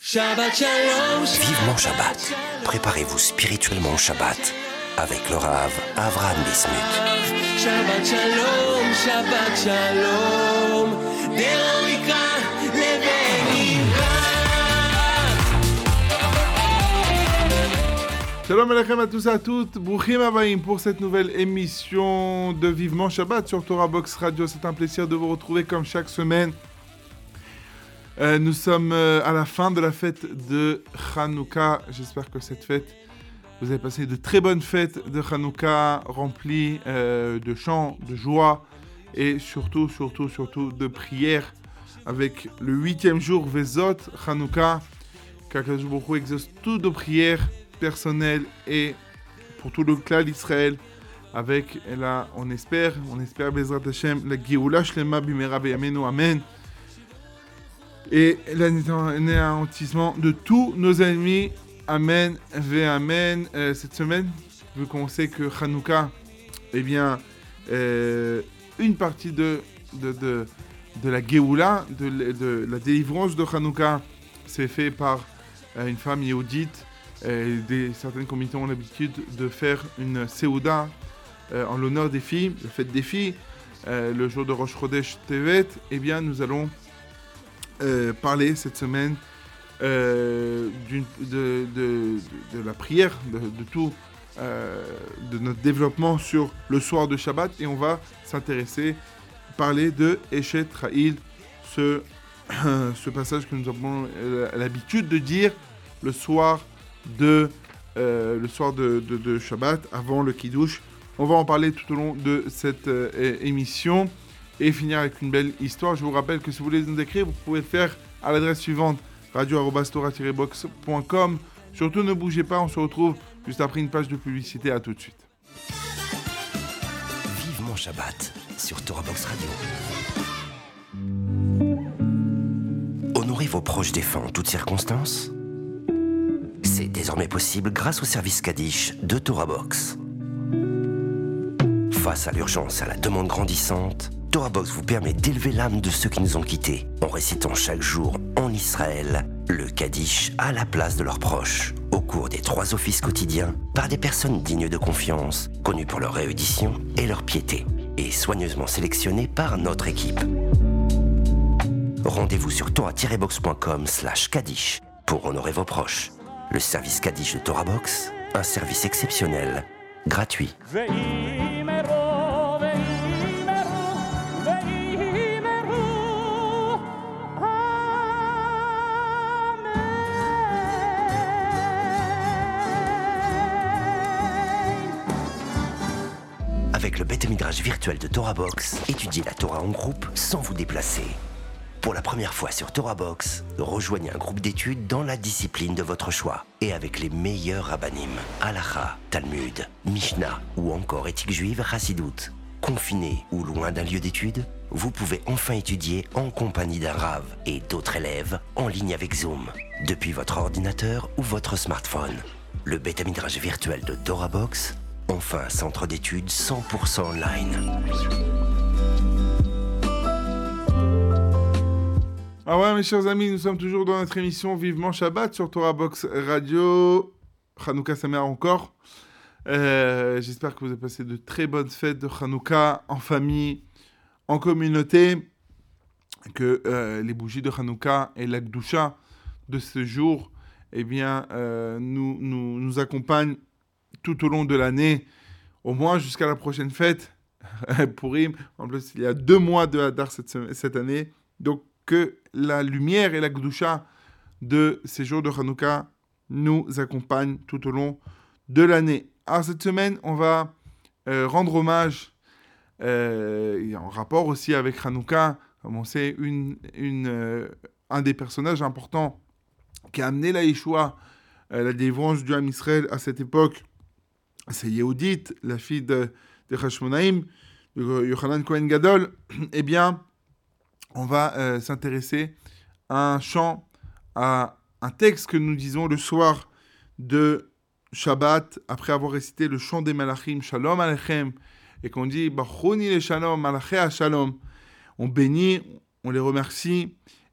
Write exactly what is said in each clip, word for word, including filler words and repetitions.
Shabbat Shalom. Vivement Shabbat. Préparez-vous spirituellement au Shabbat avec le Rav Avraham Bismuth. Shabbat Shalom, Shabbat Shalom. Deroika Leveira. Shalom Alechem à tous et à toutes. Brouchim Abayim pour cette nouvelle émission de Vivement Shabbat sur Torah Box Radio. C'est un plaisir de vous retrouver comme chaque semaine. Euh, nous sommes euh, à la fin de la fête de Hanouka. J'espère que cette fête, vous avez passé de très bonnes fêtes de Hanouka, remplies euh, de chants, de joie et surtout, surtout, surtout de prières avec le huitième jour Vezot Hanouka. Qu'Akadosh Baruch Hu exauce toutes nos prières personnelles et pour tout le clan d'Israël. Avec, et là, on espère, on espère Bezrat Hashem, la Géoula Shlema Bimera Beyamenu, Amen. Et l'anéantissement de tous nos ennemis. Amen, ve Amen. Euh, cette semaine, vu qu'on sait que Hanouka, eh bien, euh, une partie de, de, de, de la Géoula, de, de la délivrance de Hanouka, c'est fait par euh, une femme yéhoudite. Euh, des, certaines communautés ont l'habitude de faire une Seouda euh, en l'honneur des filles, la fête des filles, euh, le jour de Rosh Chodesh Tevet. Eh bien, nous allons Euh, parler cette semaine euh, d'une, de, de, de, de la prière, de, de tout, euh, de notre développement sur le soir de Shabbat, et on va s'intéresser, parler de Eshet Ra'il, ce, euh, ce passage que nous avons l'habitude de dire le soir de, euh, le soir de, de, de Shabbat, avant le Kiddush. On va en parler tout au long de cette euh, émission. Et finir avec une belle histoire. Je vous rappelle que si vous voulez nous écrire, vous pouvez le faire à l'adresse suivante, radio arobase torah tiret box point com. Surtout ne bougez pas, on se retrouve juste après une page de publicité. À tout de suite. Vivement Shabbat sur Torah Box Radio. Honorez vos proches défunts en toutes circonstances. C'est désormais possible grâce au service Kaddish de Torah Box. Face à l'urgence et à la demande grandissante, Torah Box vous permet d'élever l'âme de ceux qui nous ont quittés en récitant chaque jour en Israël le Kaddish à la place de leurs proches au cours des trois offices quotidiens par des personnes dignes de confiance, connues pour leur érudition et leur piété et soigneusement sélectionnées par notre équipe. Rendez-vous sur torah tiret box point com slash Kaddish pour honorer vos proches. Le service Kaddish de Torah Box, un service exceptionnel, gratuit. Avec le Beth Midrash virtuel de Torah Box, étudiez la Torah en groupe sans vous déplacer. Pour la première fois sur Torah Box, rejoignez un groupe d'études dans la discipline de votre choix et avec les meilleurs rabbanim, Halacha, Talmud, Mishnah ou encore éthique juive, Chassidut. Confiné ou loin d'un lieu d'études, vous pouvez enfin étudier en compagnie d'un Rav et d'autres élèves en ligne avec Zoom, depuis votre ordinateur ou votre smartphone. Le Beth Midrash virtuel de Torah Box, enfin un centre d'études cent pour cent online. Ah ouais, mes chers amis, nous sommes toujours dans notre émission Vivement Shabbat sur Torah Box Radio. Hanouka Sameach encore. Euh, j'espère que vous avez passé de très bonnes fêtes de Hanouka en famille, en communauté, que euh, les bougies de Hanouka et la Gdusha de ce jour, eh bien, euh, nous, nous, nous accompagnent tout au long de l'année, au moins jusqu'à la prochaine fête, Purim. En plus, il y a deux mois de Hadar cette, cette année. Donc, que la lumière et la Gdusha de ces jours de Hanouka nous accompagnent tout au long de l'année. Alors, cette semaine, on va euh, rendre hommage, euh, en rapport aussi avec Hanouka, comme on sait, une, une, euh, un des personnages importants qui a amené la Yeshua, euh, la délivrance du Ham Israël à cette époque, c'est Yehudit, la fille de, de Hashmonaïm, de Yochanan Cohen Gadol. Eh bien, on va euh, s'intéresser à un chant, à un texte que nous disons le soir de Shabbat, après avoir récité le chant des Malachim, Shalom Aleichem, et qu'on dit Bachouni le Shalom, Malaché Shalom. On bénit, on les remercie,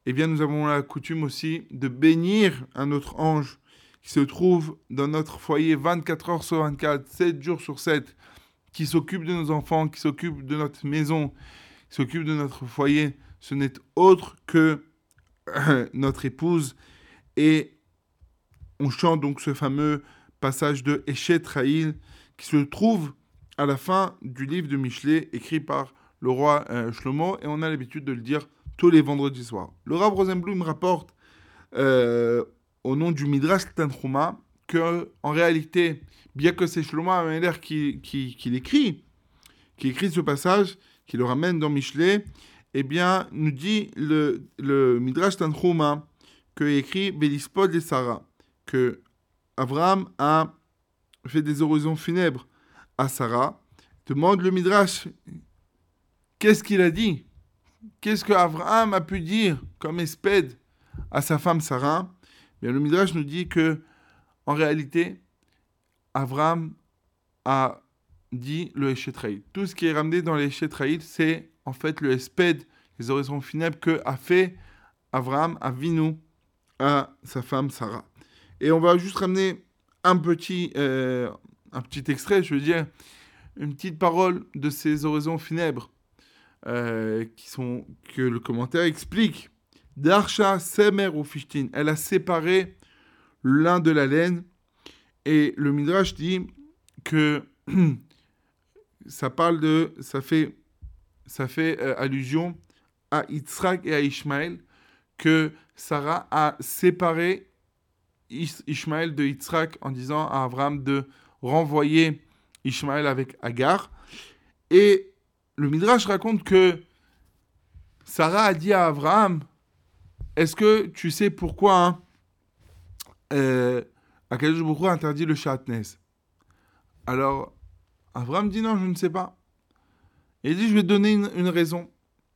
eh bien, nous avons la coutume aussi de bénir un autre ange qui se trouve dans notre foyer vingt-quatre heures sur vingt-quatre, sept jours sur sept, qui s'occupe de nos enfants, qui s'occupe de notre maison, qui s'occupe de notre foyer. Ce n'est autre que euh, notre épouse. Et on chante donc ce fameux passage de Eshet Raïl qui se trouve à la fin du livre de Michelet, écrit par le roi euh, Shlomo, et on a l'habitude de le dire tous les vendredis soirs. Le Rav Rosenblum rapporte euh, au nom du Midrash Tanchuma que, en réalité, bien que c'est Shlomo Ameler qui, qui, qui l'écrit, qui écrit ce passage, qui le ramène dans Michelet, eh bien, nous dit le, le Midrash Tanchuma que écrit Bélispod et Sarah, que Abraham a fait des oraisons funèbres à Sarah. Demande le Midrash, qu'est-ce qu'il a dit? Qu'est-ce que Abraham a pu dire comme espède à sa femme Sarah? Bien, le Midrash nous dit que, en réalité, Abraham a dit le Eshet Raïl. Tout ce qui est ramené dans le Eshet Raïl, c'est en fait le espède, les oraisons funèbres que a fait Abraham Avinu à sa femme Sarah. Et on va juste ramener un petit, euh, un petit extrait, je veux dire, une petite parole de ces oraisons funèbres euh, qui sont, que le commentaire explique. Darsha Semer ou Fishtin, elle a séparé l'un de la laine, et le Midrash dit que ça parle de, ça fait, ça fait euh, allusion à Yitzhak et à Ishmaël, que Sarah a séparé Ishmaël de Yitzhak en disant à Abraham de renvoyer Ishmaël avec Agar. Et le Midrash raconte que Sarah a dit à Abraham, est-ce que tu sais pourquoi hein, euh, Akadosh Baruch Hu a interdit le shatnez? Alors Abraham dit non, je ne sais pas. Et il dit, je vais te donner une, une raison.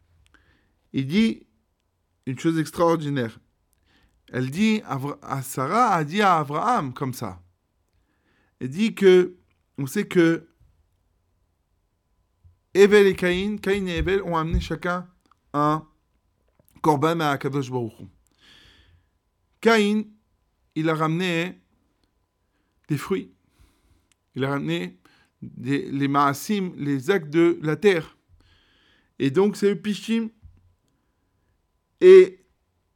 Il dit une chose extraordinaire. Elle dit, à Sarah a dit à Abraham comme ça. Elle dit que, on sait que Evel et Caïn, Caïn et Evel ont amené chacun un korban à Akadosh Baruch Hu. Caïn, il a ramené des fruits. Il a ramené des, les maasim, les actes de la terre. Et donc, c'est le pishim. Et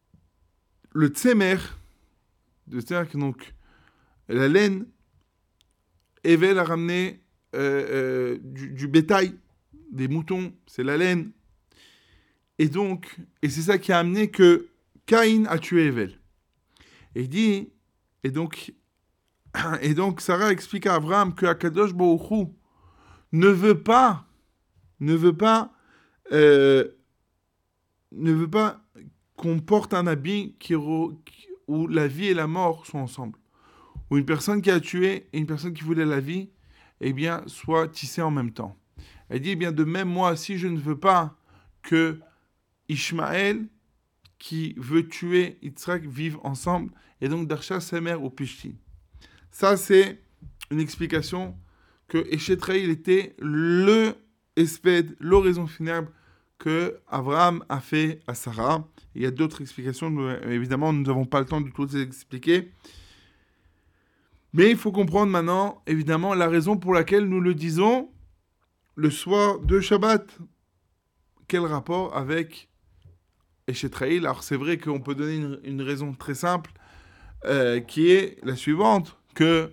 le tsemer, c'est-à-dire que donc, la laine, Evel a ramené euh, euh, du, du bétail, des moutons, c'est la laine. Et donc, et c'est ça qui a amené que Caïn a tué Evel. Et il dit, et donc, et donc Sarah explique à Abraham que Akadosh Baruch Hu ne veut pas, ne veut pas, euh, ne veut pas qu'on porte un habit qui, où la vie et la mort sont ensemble. Où une personne qui a tué et une personne qui voulait la vie, eh bien, soient tissées en même temps. Elle dit, eh bien, de même, moi, si je ne veux pas que Ishmaël, qui veut tuer Yitzhak, vivent ensemble, et donc Darsha, Semer ou Pishti. Ça, c'est une explication que Eshet Raïl était le espède, l'oraison funèbre que Abraham a fait à Sarah. Il y a d'autres explications, mais évidemment, nous n'avons pas le temps de toutes les expliquer. Mais il faut comprendre maintenant, évidemment, la raison pour laquelle nous le disons le soir de Shabbat. Quel rapport avec Eshet Raïl? Alors, c'est vrai qu'on peut donner une, une raison très simple, euh, qui est la suivante, que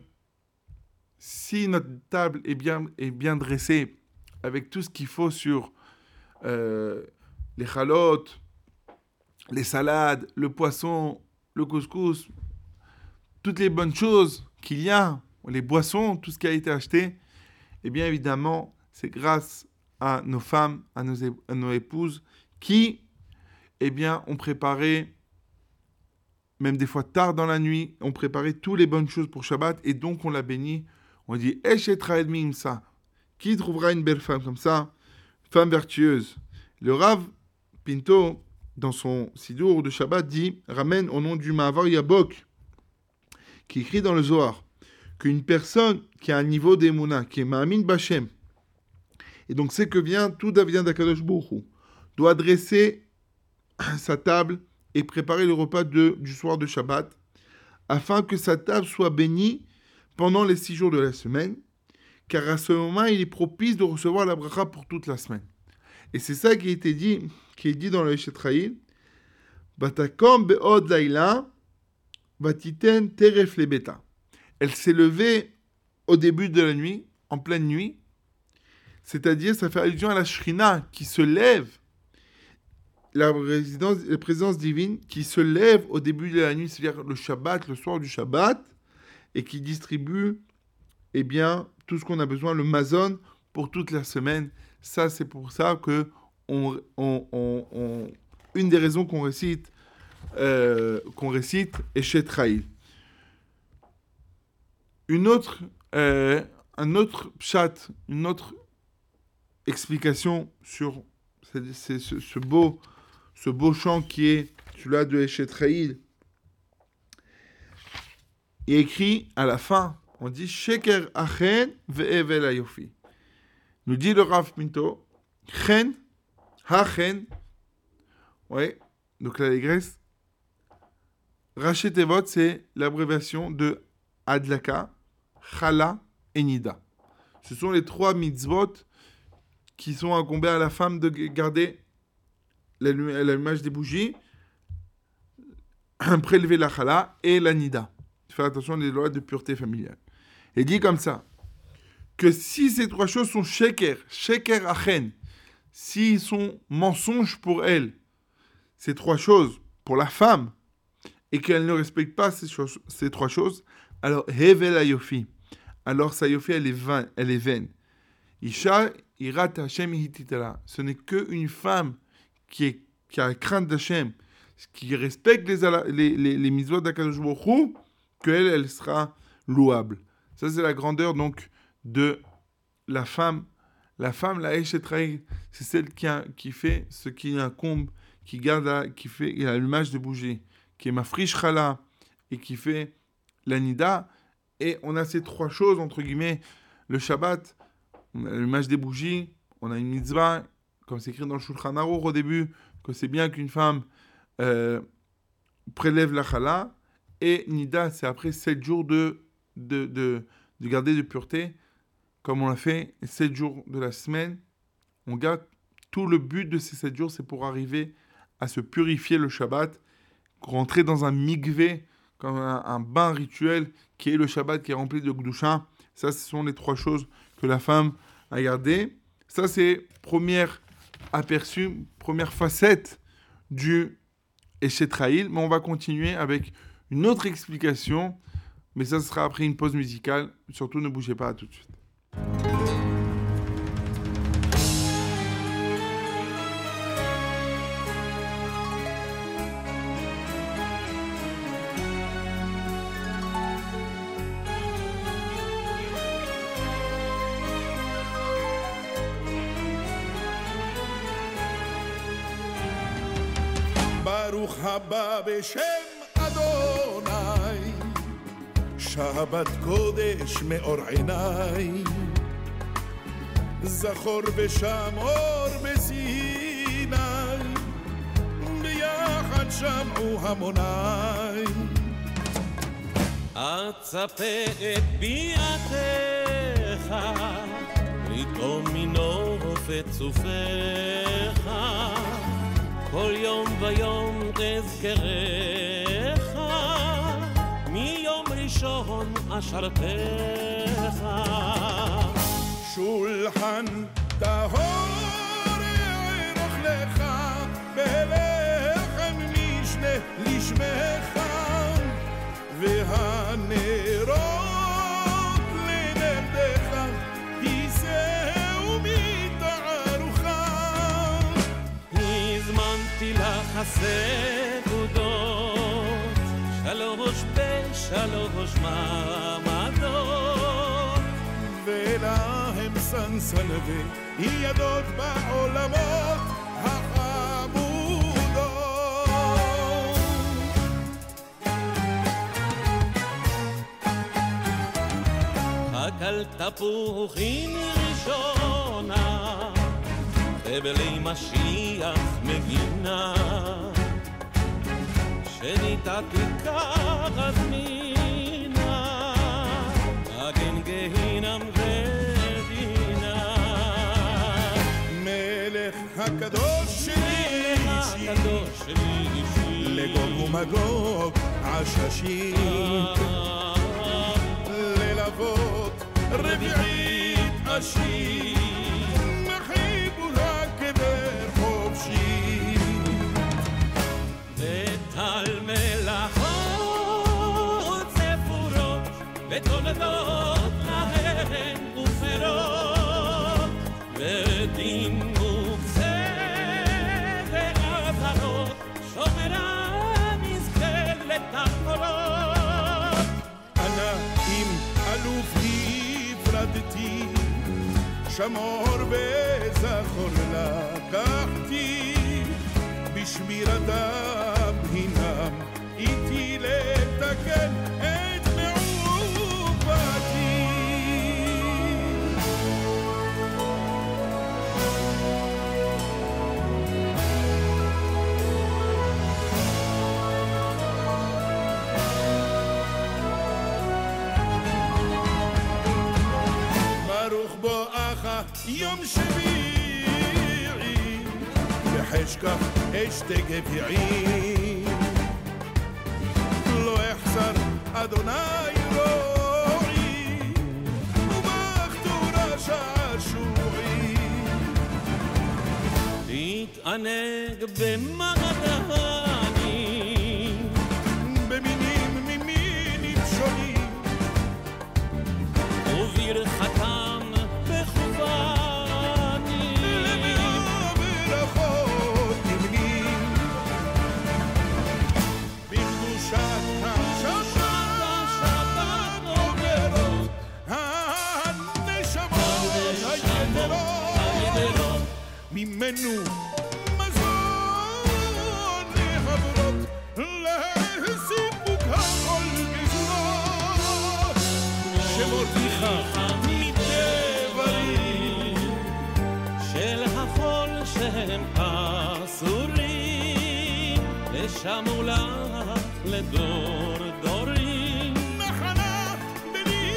si notre table est bien, est bien dressée, avec tout ce qu'il faut sur euh, les chalotes, les salades, le poisson, le couscous, toutes les bonnes choses qu'il y a, les boissons, tout ce qui a été acheté, eh bien évidemment, c'est grâce à nos femmes, à nos, é- à nos épouses, qui, eh bien, ont préparé, même des fois tard dans la nuit, ont préparé toutes les bonnes choses pour Shabbat, et donc on l'a béni. On dit, Eshet Raïl Mimsa, qui trouvera une belle femme comme ça, femme vertueuse. Le Rav Pinto, dans son Sidour de Shabbat, dit, ramène au nom du Ma'avar Yabok, qui écrit dans le Zohar, qu'une personne qui a un niveau d'Emouna, qui est Ma'amin Bachem, et donc c'est que vient, tout vient d'Akadosh Baruch Hu, doit dresser sa table et préparer le repas de, du soir de Shabbat, afin que sa table soit bénie pendant les six jours de la semaine, car à ce moment, il est propice de recevoir la bracha pour toute la semaine. Et c'est ça qui a été dit, qui est dit dans le Eshetraïl. Batakom be'od laila, batiten teref lebeta. Elle s'est levée au début de la nuit, en pleine nuit, c'est-à-dire ça fait allusion à la Shrina qui se lève, la, résidence, la présence divine qui se lève au début de la nuit, c'est-à-dire le Shabbat, le soir du Shabbat, et qui distribue eh bien, tout ce qu'on a besoin, le mazon, pour toute la semaine. Ça, c'est pour ça que on, on, on, on, une des raisons qu'on récite, euh, qu'on récite Eshetraïl. Une autre, euh, un autre pshat, une autre explication sur c'est, c'est ce, ce, beau, ce beau chant qui est celui-là de Eshetraïl. Il est écrit à la fin, on dit Sheker achen ve'evel ayofi. Nous dit le Rav Pinto, chen, hachen, ouais, donc l'allégresse. Raché Tevot, c'est l'abréviation de Adlaka, Chala et Nida. Ce sont les trois mitzvot qui sont incombés à la femme de garder l'allumage des bougies, prélever la Chala et la Nida. Faire attention aux lois de pureté familiale. Et dit comme ça, que si ces trois choses sont sheker, sheker achen, s'ils sont mensonges pour elle, ces trois choses pour la femme, et qu'elle ne respecte pas ces, choses, ces trois choses, alors hevel ayofi, alors sa yofi elle est vaine, elle est vaine. Isha irat Hashem hititala, ce n'est qu'une femme qui, est, qui a la crainte d'Hashem, qui respecte les, les, les, les mitzvot d'Akadosh Baruch Hu, qu'elle, elle sera louable. Ça, c'est la grandeur, donc, de la femme. La femme, la Eshetraïl, c'est celle qui, a, qui fait ce qui incombe, qui garde, la, qui fait l'allumage de bougie, qui est ma friche chala, et qui fait la nida. Et on a ces trois choses, entre guillemets, le Shabbat, on a l'allumage des bougies, on a une mitzvah, comme c'est écrit dans le Shulchan Aruch au début, que c'est bien qu'une femme euh, prélève la chala. Et Nida, c'est après sept jours de, de, de, de garder de pureté, comme on l'a fait, sept jours de la semaine. On garde tout le but de ces sept jours, c'est pour arriver à se purifier le Shabbat, rentrer dans un mikvé, comme un, un bain rituel, qui est le Shabbat, qui est rempli de Gdusha. Ça, ce sont les trois choses que la femme a gardées. Ça, c'est première aperçu, première facette du Eshetraïl. Mais on va continuer avec une autre explication, mais ça sera après une pause musicale. Surtout, ne bougez pas, à tout de suite. Baruch haba b'shem Adonai, Shabbat Kodesh me'or einai, Zachor v'shamor b'Sinai, B'yachad sham'u hamonai. אצפה את ביאתך, לטעום מנוף את צופך, כל יום ויום תזכרך, מיום ראשון אשרתך. שולחן טהור יערוך לך, בלחם משנה לשמך, והנרות לנרדך, כיסהו מתערוכה. הזמנתי לך הסעודות, שלוש בשלוש מעמדות, ולהם סנסנבי ידות בעולמות החמודות. אכל תפוחים ראשונה, חבלי משיח מגינה, שניתתי כזמינה אגן גהינם רדינה מלך הקדוש שלי הקדוש שלי לגוג ומגוג עששים ללוות רביעית עשיר מחיבו הקבר חופשי וטל מלאכות ספורות ותולדות להן ופירות ודין מוקצה ואזהרות שומרה נזכה לתחרות אנא אם אלוף הפרדתי שמור וזכור לקחתי בשמירתם הינם איתי לתקן את מעובתי ברוך בואך יום שביעי בחשכך אשתי גביעי לא אחסר אדוני רועי ובכתורה שעשועי להתענג במעדני במינים ממינים שונים וברכתם בכווני ברכות נמנים בקדושת השבת עוברות הנשמות היתרות ממנו מזון להברות להסיפוק הכל גזרות שמורתיך מדברים של החול שהם אסורים ושמו לך לדור דורים נחלה בני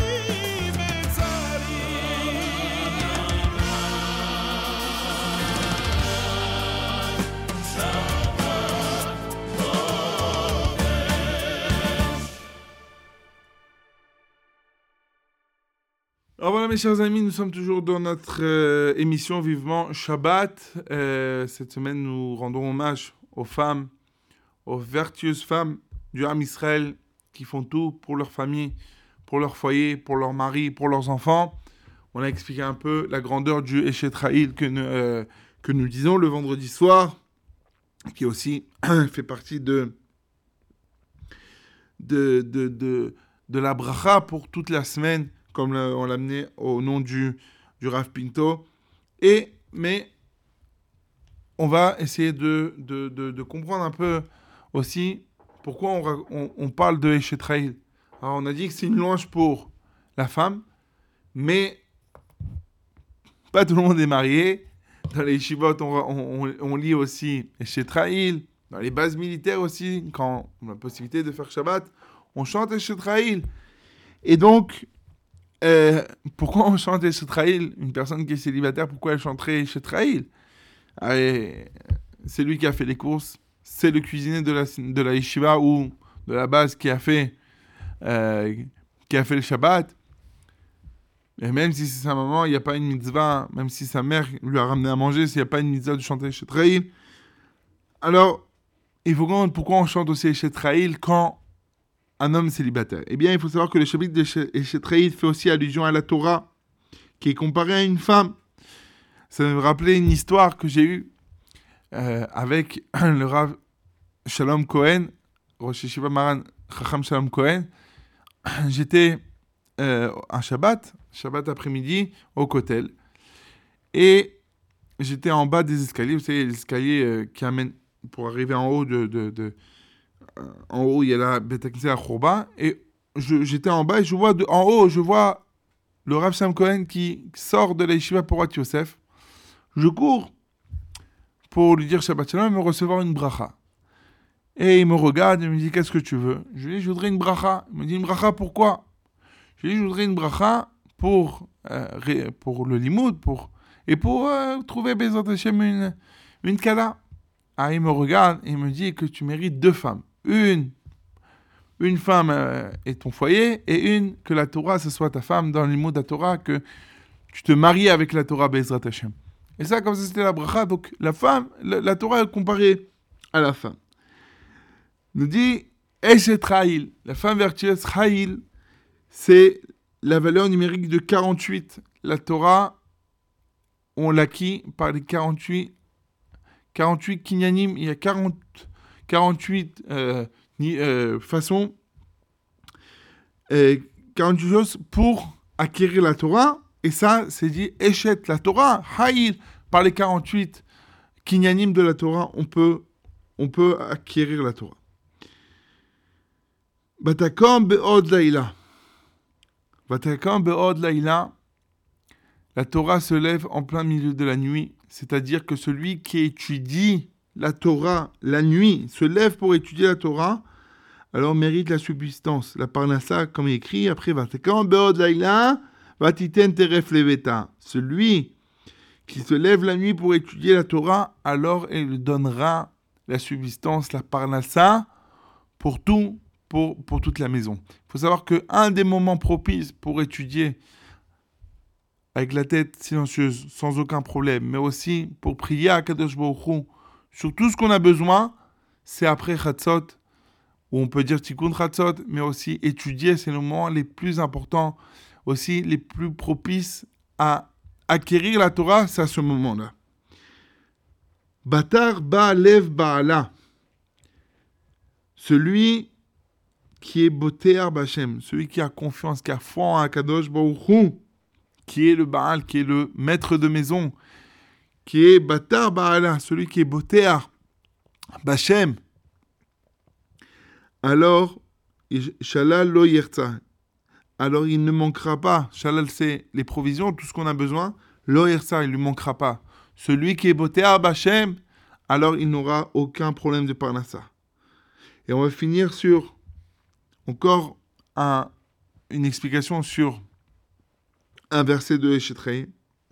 Alors voilà mes chers amis, nous sommes toujours dans notre euh, émission Vivement Shabbat. Euh, cette semaine, nous rendons hommage aux femmes, aux vertueuses femmes du Ham Israël qui font tout pour leur famille, pour leur foyer, pour leur mari, pour leurs enfants. On a expliqué un peu la grandeur du Eshet Ra'il que, euh, que nous disons le vendredi soir, qui aussi fait partie de, de, de, de, de la bracha pour toute la semaine, comme on l'a amené au nom du, du Rav Pinto. Et, mais on va essayer de, de, de, de comprendre un peu aussi pourquoi on, on, on parle de Eshet Ra'il. Alors on a dit que c'est une louange pour la femme, mais pas tout le monde est marié. Dans les yeshivot, on, on, on lit aussi Eshet Ra'il. Dans les bases militaires aussi, quand on a la possibilité de faire Shabbat, on chante Eshet Ra'il. Et donc, Euh, pourquoi on chante Eshet Ra'il? Une personne qui est célibataire, pourquoi elle chanterait Eshet Ra'il? C'est lui qui a fait les courses, c'est le cuisinier de la, de la yeshiva ou de la base qui a fait, euh, qui a fait le Shabbat. Et même si c'est sa maman, il n'y a pas une mitzvah, même si sa mère lui a ramené à manger, s'il n'y a pas une mitzvah de chanter Eshet Ra'il. Alors, il faut comprendre pourquoi on chante aussi Eshet Ra'il quand un homme célibataire. Eh bien, il faut savoir que le chapitre d'Eshet Ra'il fait aussi allusion à la Torah, qui est comparée à une femme. Ça me rappelait une histoire que j'ai eue euh, avec le Rav Shalom Cohen, Rosh Yeshiva Maran Chacham Shalom Cohen. J'étais euh, un Shabbat, Shabbat après-midi, au Kotel. Et j'étais en bas des escaliers, vous savez, les escaliers euh, qui amènent pour arriver en haut de... de, de en haut, il y a la Beit HaKnesset à Khourba, et je, j'étais en bas et je vois de, en haut, je vois le Rav Shalom Cohen qui sort de la yeshiva Porat Yosef. Je cours pour lui dire Shabbat Shalom et me recevoir une bracha. Et il me regarde, il me dit, qu'est-ce que tu veux? Je lui dis, je voudrais une bracha. Il me dit, une bracha pourquoi? Je lui dis, je voudrais une bracha pour, euh, pour le limoud, pour, et pour euh, trouver Bezrat Hashem une, une kala. Ah, il me regarde et il me dit que tu mérites deux femmes. Une, une femme euh, est ton foyer, et une, que la Torah, ce soit ta femme dans le limoud de la Torah, que tu te maries avec la Torah Bezrat Hashem. Et ça, comme ça, c'était la bracha. Donc, la femme, la, la Torah est comparée à la femme. Nous dit, Eshet Chayil, la femme vertueuse Chayil, c'est la valeur numérique de quarante-huit. La Torah, on l'acquit par les quarante-huit, quarante-huit kinyanim. Il y a quarante, quarante-huit euh, ni, euh, façons, euh, quarante-huit choses pour acquérir la Torah. Et ça, c'est dit Eshet, la Torah, Chayil, par les quarante-huit kinyanim de la Torah, on peut, on peut acquérir la Torah. Batakom be'od laïla. Batakom be'od laïla. La Torah se lève en plein milieu de la nuit. C'est-à-dire que celui qui étudie la Torah la nuit, se lève pour étudier la Torah, alors mérite la subsistance. La parnassa, comme il écrit, après, Batakom be'od laïla, vatiten teref leveta. Celui qui se lève la nuit pour étudier la Torah, alors il lui donnera la subsistance, la parnassa, pour tout. Pour, pour toute la maison. Il faut savoir qu'un des moments propices pour étudier avec la tête silencieuse, sans aucun problème, mais aussi pour prier à Kadosh Baruch Hu sur tout ce qu'on a besoin, c'est après Chatzot, où on peut dire Tikkun Chatzot, mais aussi étudier, c'est le moment les plus importants, aussi les plus propices à acquérir la Torah, c'est à ce moment-là. Batar Ba'alev Ba'ala. Celui qui est Botéar Bachem, celui qui a confiance, qui a foi en Akadosh Baruch Hu, qui est le Baal, qui est le maître de maison, qui est Batar Baala, celui qui est Botéar Bachem, alors, Shalal lo yerza, alors il ne manquera pas, Shalal c'est les provisions, tout ce qu'on a besoin, lo yerza, il ne lui manquera pas. Celui qui est Botéar Bachem, alors il n'aura aucun problème de parnassa. Et on va finir sur encore un, une explication sur un verset de Eshet Chayil.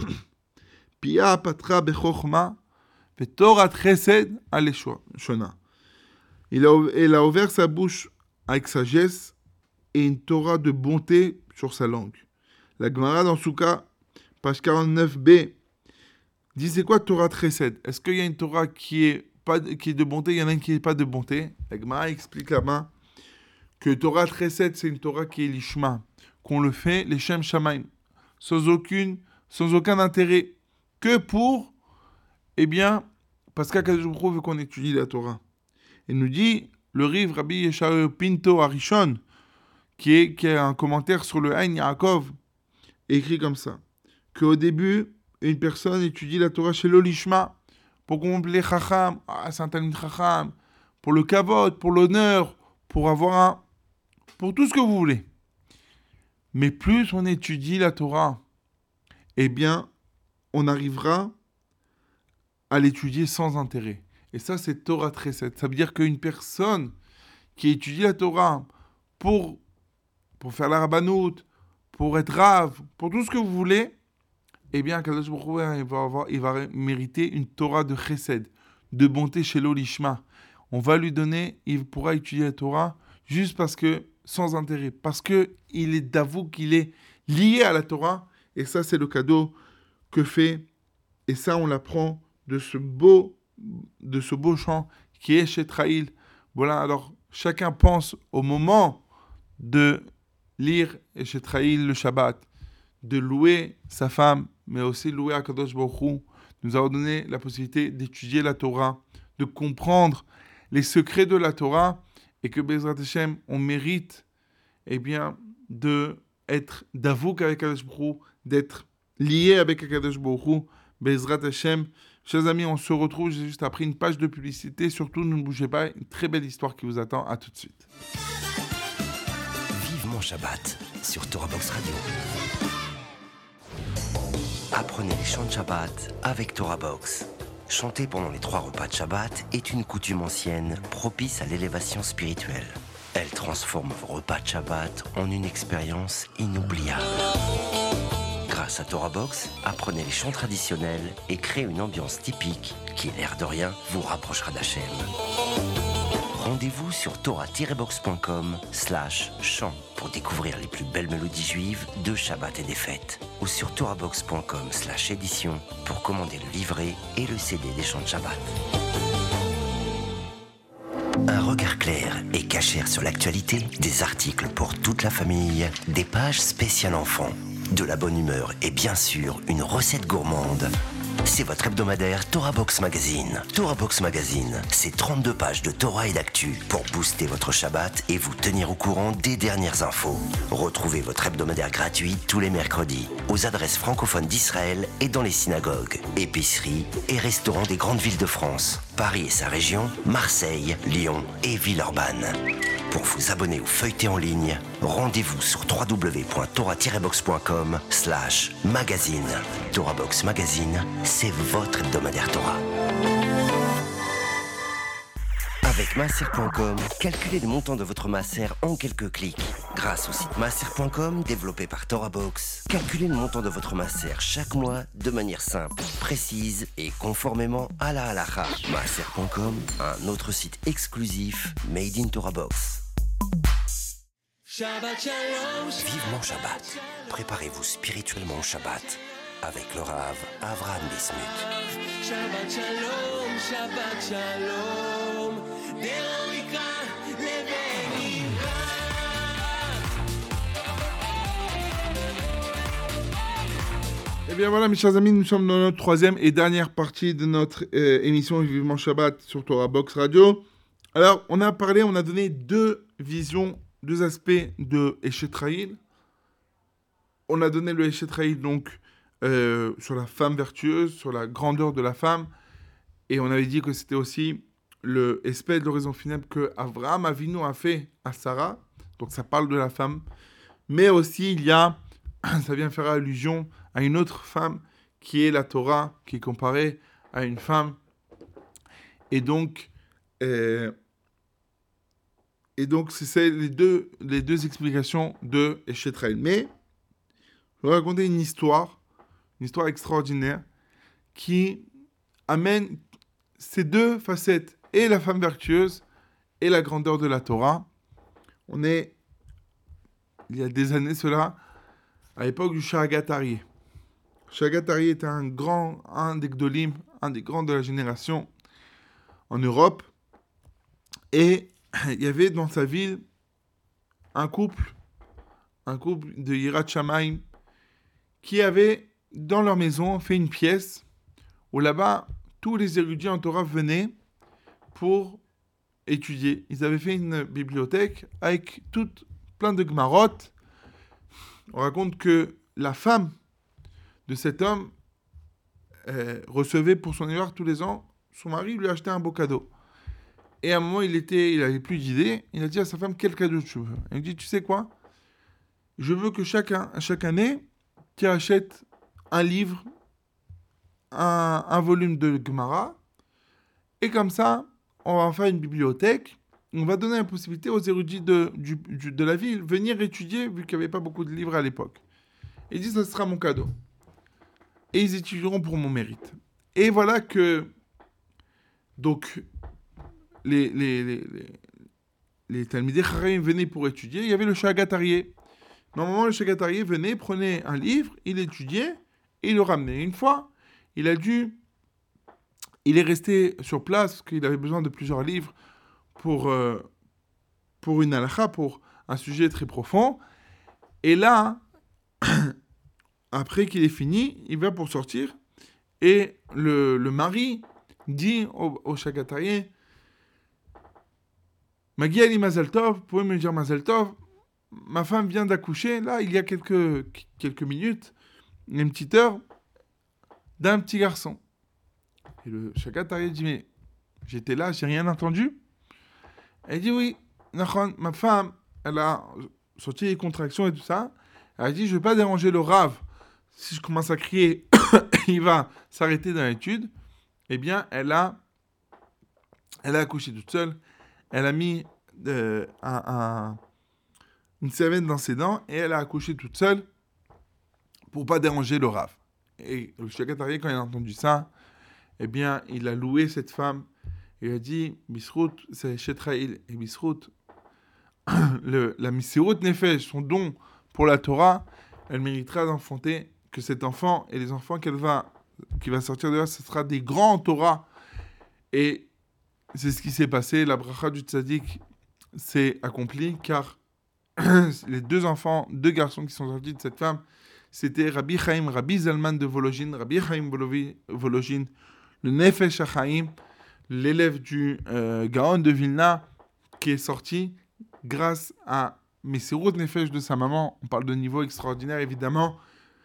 Pia patra bechokhma vetorat chesed aleshona. Il a, il a ouvert sa bouche avec sagesse et une Torah de bonté sur sa langue. La Gemara dans Souka, page quarante-neuf b, dit c'est quoi Torah chesed? Est-ce qu'il y a une Torah qui est, pas, qui est de bonté, il y en a une qui n'est pas de bonté? La Gemara explique là-bas que Torah Chesed, c'est une Torah qui est l'ishma, qu'on le fait, les Shem Shamaim, sans aucune, sans aucun intérêt, que pour, eh bien, parce qu'Akadosh Baruch Hu veut qu'on étudie la Torah. Il nous dit, le Riv Rabbi Yeshayahu Pinto Arishon, qui est, qui a un commentaire sur le Ein Yaakov, écrit comme ça, qu'au début, une personne étudie la Torah chez l'Olishma, pour qu'on les Chacham, ah, c'est un Talmid Chacham, pour le Kavod, pour l'honneur, pour avoir un, pour tout ce que vous voulez. Mais plus on étudie la Torah, eh bien, on arrivera à l'étudier sans intérêt. Et ça, c'est Torah Chesed. Ça veut dire qu'une personne qui étudie la Torah pour, pour faire la rabbanout, pour être rave, pour tout ce que vous voulez, eh bien, Kadosh Baruch Hu, il va avoir, il va mériter une Torah de Chesed, de bonté chez l'Olishma. On va lui donner, il pourra étudier la Torah juste parce que, sans intérêt, parce qu'il est d'avou qu'il est lié à la Torah, et ça c'est le cadeau que fait, et ça on l'apprend de ce beau, de ce beau chant qui est Eshet Chayil. Voilà, alors chacun pense au moment de lire Eshet Chayil le Shabbat, de louer sa femme, mais aussi louer Akadosh Baruch Hu, nous avons donné la possibilité d'étudier la Torah, de comprendre les secrets de la Torah, et que Bezrat Hashem, on mérite, eh bien, de être d'avouk avec Akadosh Baruch Hu, d'être lié avec Akadosh Baruch Hu, Bezrat Hashem. Chers amis, on se retrouve juste après une page de publicité. Surtout, ne bougez pas, une très belle histoire qui vous attend. À tout de suite. Vivement Shabbat sur Torah Box Radio. Apprenez les chants de Shabbat avec Torah Box. Chanter pendant les trois repas de Shabbat est une coutume ancienne propice à l'élévation spirituelle. Elle transforme vos repas de Shabbat en une expérience inoubliable. Grâce à Torah Box, apprenez les chants traditionnels et créez une ambiance typique qui, l'air de rien, vous rapprochera d'Hachem. Rendez-vous sur torah tiret box point com slash chant pour découvrir les plus belles mélodies juives de Shabbat et des fêtes, ou sur torah box point com slash édition pour commander le livret et le C D des chants de Shabbat. Un regard clair et cachère sur l'actualité, des articles pour toute la famille, des pages spéciales enfants, de la bonne humeur et bien sûr une recette gourmande. C'est votre hebdomadaire Torah Box Magazine. Torah Box Magazine, c'est trente-deux pages de Torah et d'actu pour booster votre Shabbat et vous tenir au courant des dernières infos. Retrouvez votre hebdomadaire gratuit tous les mercredis aux adresses francophones d'Israël et dans les synagogues, épiceries et restaurants des grandes villes de France, Paris et sa région, Marseille, Lyon et Villeurbanne. Pour vous abonner ou feuilleter en ligne, rendez-vous sur w w w point torah tiret box point com slash magazine. Torah Box Magazine, c'est votre hebdomadaire Torah. Avec maaser point com, calculez le montant de votre maaser en quelques clics. Grâce au site maaser point com, développé par Torah Box, calculez le montant de votre maaser chaque mois de manière simple, précise et conformément à la halacha. maaser point com, un autre site exclusif made in Torah Box. Shabbat Shalom. Vivement Shabbat. Préparez-vous spirituellement au Shabbat avec le Rav Avraham Bismuth. Shabbat Shalom, Shabbat Shalom. Deroika Leveira. Eh bien voilà mes chers amis, nous sommes dans notre troisième et dernière partie de notre euh, émission Vivement Shabbat sur Torah Box Radio. Alors on a parlé, on a donné deux visions, deux aspects de Eshet Rahil. On a donné le Eshet Rahil donc euh, sur la femme vertueuse, sur la grandeur de la femme. Et on avait dit que c'était aussi le espèce de l'horizon funèbre que Avraham Avinu a fait à Sarah. Donc ça parle de la femme. Mais aussi il y a, ça vient faire allusion à une autre femme qui est la Torah, qui est comparée à une femme. Et donc, euh, et donc c'est, c'est les, deux, les deux explications de Eshet Rahil. Mais je vais raconter une histoire, une histoire extraordinaire qui amène ces deux facettes, et la femme vertueuse et la grandeur de la Torah. On est, il y a des années cela, à l'époque du Shagat Aryeh. Shagat Aryeh était un grand, un des Gdolim, un des grands de la génération en Europe. Et il y avait dans sa ville un couple, un couple de Yirat Shamayim, qui avait dans leur maison fait une pièce où là-bas, tous les érudits en Torah venaient pour étudier. Ils avaient fait une bibliothèque avec toutes, plein de Gemarot. On raconte que la femme de cet homme euh, recevait pour son anniversaire tous les ans, son mari lui achetait un beau cadeau. Et à un moment, il était, il n'avait plus d'idées. Il a dit à sa femme, quel cadeau tu veux ? Elle lui dit, tu sais quoi ? Je veux que chaque, chaque année, tu achètes un livre, un, un volume de Gemara, et comme ça, on va faire une bibliothèque. On va donner la possibilité aux érudits de, du, du, de la ville de venir étudier, vu qu'il n'y avait pas beaucoup de livres à l'époque. Il dit, ça sera mon cadeau. Et ils étudieront pour mon mérite. Et voilà que, donc, les, les, les, les, les Talmidei Chachamim venaient pour étudier. Il y avait le Shagat Aryeh. Normalement, le Shagat Aryeh venait, prenait un livre, il étudiait, et il le ramenait. Une fois, il a dû... Il est resté sur place, parce qu'il avait besoin de plusieurs livres pour, euh, pour une halakha, pour un sujet très profond. Et là, après qu'il est fini, il va pour sortir, et le, le mari dit au, au Shagat Aryeh, Magi Ali Mazal Tov, vous pouvez me dire Mazal Tov, ma femme vient d'accoucher, là, il y a quelques, quelques minutes, une petite heure, d'un petit garçon. Et le Shagat Aryeh dit, mais j'étais là, j'ai rien entendu. Elle dit, oui, ma femme, elle a sorti les contractions et tout ça. Elle a dit, je ne vais pas déranger le Rav. Si je commence à crier, il va s'arrêter dans l'étude. eh bien, elle a, elle a accouché toute seule. Elle a mis euh, un, un, une serviette dans ses dents et elle a accouché toute seule pour pas déranger le Rav. Et le Shagatari, quand il a entendu ça, eh bien, il a loué cette femme. Il a dit, Bisrout, c'est Shetraïl. Et Bisrout, le, la Misirut Nefesh, son don pour la Torah, elle méritera d'enfanter que cet enfant et les enfants qu'elle va, qui va sortir de là, ce sera des grands Torah. Et c'est ce qui s'est passé. La bracha du tzaddik s'est accomplie car les deux enfants, deux garçons qui sont sortis de cette femme, c'était Rabbi Chaim, Rabbi Zalman de Vologine, Rabbi Chaim Vologine, le Nefesh HaChaim, l'élève du euh, Gaon de Vilna, qui est sorti grâce à Mesirut Nefesh de sa maman. On parle de niveau extraordinaire, évidemment,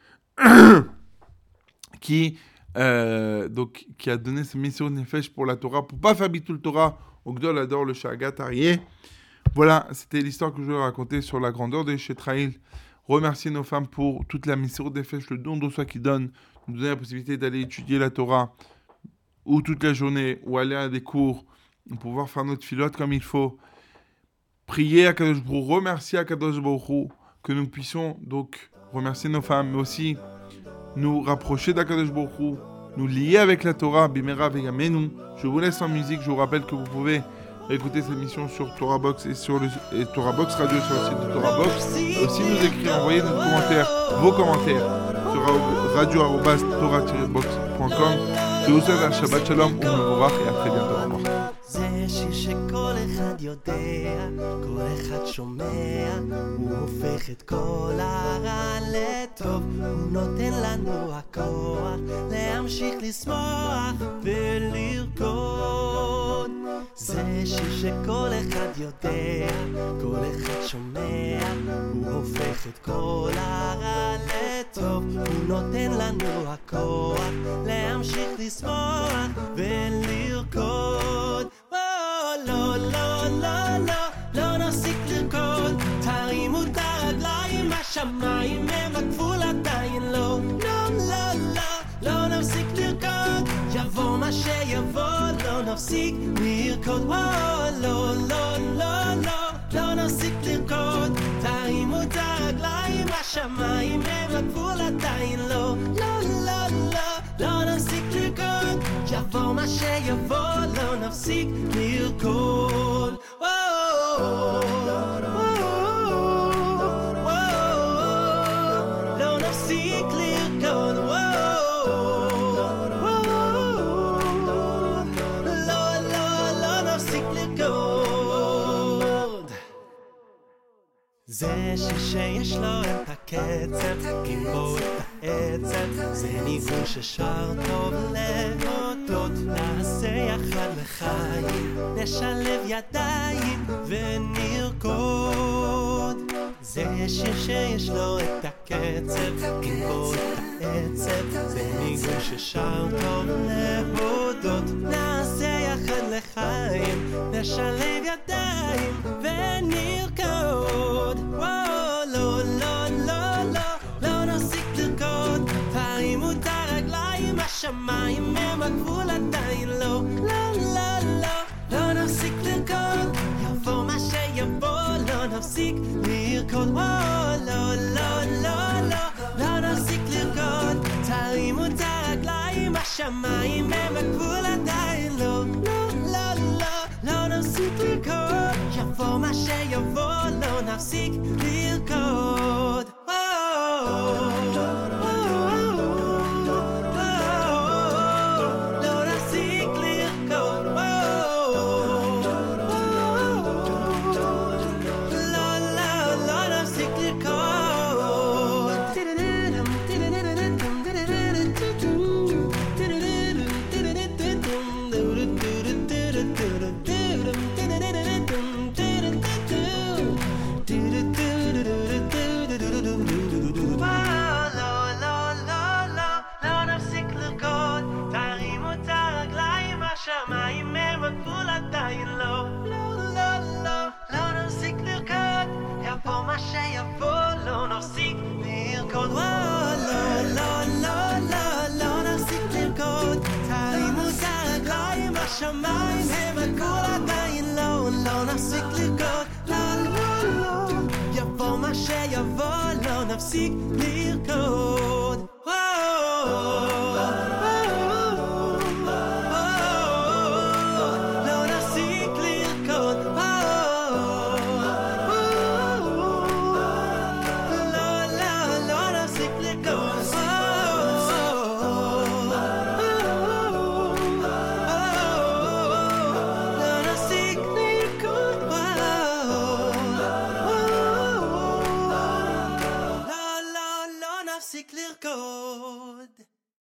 qui, euh, donc, qui a donné ce Mesirut Nefesh pour la Torah, pour pas faire Bitul Torah au Gdol Ador, le Shagat Aryeh. Voilà, c'était l'histoire que je voulais raconter sur la grandeur de Shetraïl. Remercier nos femmes pour toute la Mesirut Nefesh, le don de soi qui donne, nous donner la possibilité d'aller étudier la Torah, ou toute la journée, ou aller à des cours, pour pouvoir faire notre filote comme il faut. Prier à Kadosh Baruch Hu, remercier à Kadosh Baruch Hu, que nous puissions donc remercier nos femmes, mais aussi nous rapprocher d'Akadosh Baruch Hu, nous lier avec la Torah, Bimera Veyamenu. Je vous laisse en musique, je vous rappelle que vous pouvez écouter cette émission sur Torah Box et sur le et Torah Box Radio sur le site de Torah Box. Et aussi nous écrire, envoyer nos commentaires, vos commentaires sur radio arobase torah tiret box point com. Je vous souhaite un Shabbat Shalom, ou Mevorach, et à très bientôt. Au revoir. זה שיר שכל אחד יודע, כל אחד שומע, הוא הופך את כל הרע לטוב, הוא נותן לנו הכוח להמשיך לשמוח ולרקוד. זה שיר שכל אחד יודע, כל אחד שומע, הוא הופך את כל הרע לטוב, הוא נותן לנו הכוח להמשיך לשמוח ולרקוד. לא, לא, לא, לא, לא נפסיק לרקוד, תרימו את הרגליים, השמיים הם הגבול עדיין לא. לא, לא, לא, לא נפסיק לרקוד, יבוא מה שיבוא, לא נפסיק לרקוד. לא, לא, לא, לא, לא נפסיק לרקוד, תרימו את הרגליים, השמיים הם הגבול עדיין לא. לא, לא, לא, לא נפסיק לרקוד, יבוא מה שיבוא, לא נפסיק לרקוד. לא נפסיק לרקוד. לא, לא, לא נפסיק לרקוד. זה שיש לו את הקצב, עם בו את העצב, זה ניגון ששר טוב להודות. נעשה יחד לחיים, נשלב ידיים ונרקוד. זה שיר שיש לו את הקצב, עם בו את העצב, זה ניגון ששר טוב להודות. נעשה יחד לחיים, נשלב ידיים ונרקוד. לא, לא, לא, לא, לא נפסיק לרקוד, תרימו את הרגליים, השמיים הם הגבול עדיין לא. לא, לא, לא, לא נפסיק לרקוד, יבוא מה שיבוא, לא נפסיק לרקוד. לא, לא, לא, לא, לא נפסיק לרקוד, תרימו את הרגליים, השמיים הם הגבול עדיין לא. לא, לא, לא, לא נפסיק לרקוד, יבוא מה שיבוא, לא נפסיק לרקוד. Do do do do do do. השמיים הם הגבול עדיין לא, לא נפסיק לרקוד, לא, לא, לא. יבוא מה שיבוא, לא נפסיק לרקוד.